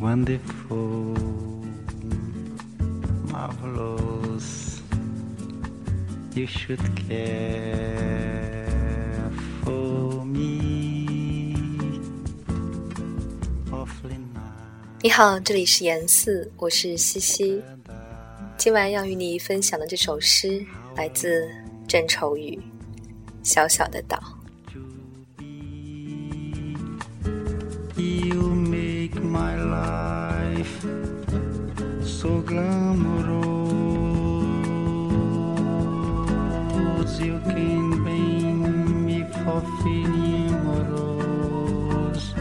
wonderful, marvelous. You should care for me awfully nice. 你好，这里是言四，我是西西。今晚要与你分享的这首诗来自郑愁予，小小的岛。 You make my life so glamorous. You can bring me for feeling rose.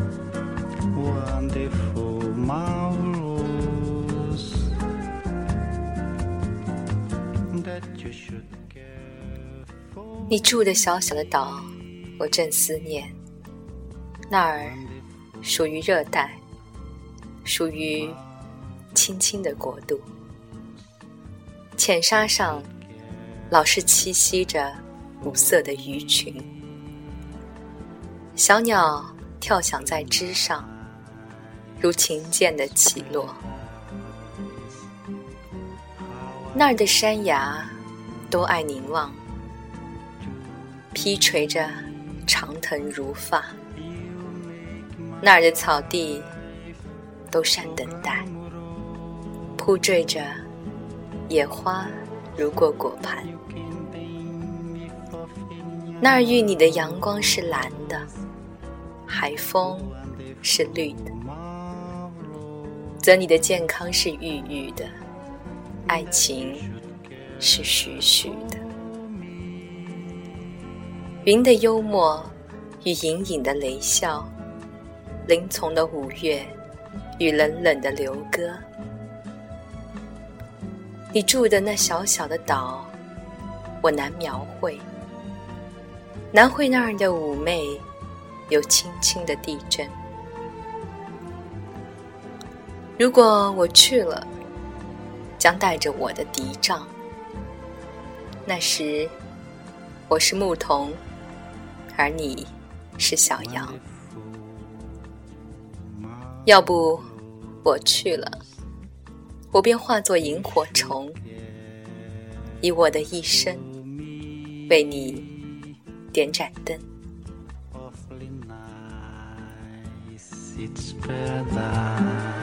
Wonderful, marvelous. That you should care for. 你住的小小的岛，我正思念。那儿属于热带，属于青青的国度。浅沙上老是栖息着五色的鱼群，小鸟跳响在枝上，如琴键的起落。那儿的山崖都爱凝望，披垂着长藤如发。那儿的草地都善等待，铺缀着野花如过果盘。那儿遇你的阳光是蓝的，海风是绿的，则你的健康是郁郁的，爱情是徐徐的。云的幽默与隐隐的雷笑，林丛的五月与冷冷的流歌。你住的那小小的岛，我难描绘，难绘那儿的妩媚有轻轻的地震。如果我去了，将带着我的笛杖，那时我是牧童，而你是小羊。要不我去了，我便化作萤火虫，以我的一生为你点盏灯。 Awfully nice, it's paradise.